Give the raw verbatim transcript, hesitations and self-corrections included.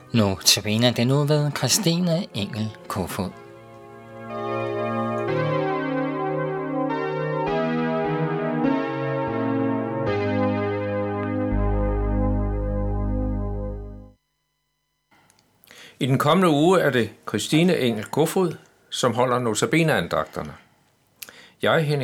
Notabene den nu ved Christine Engel Kofod. I den kommende uge er det Christine Engel Kofod, som holder notabeneandagterne. Jeg, Henning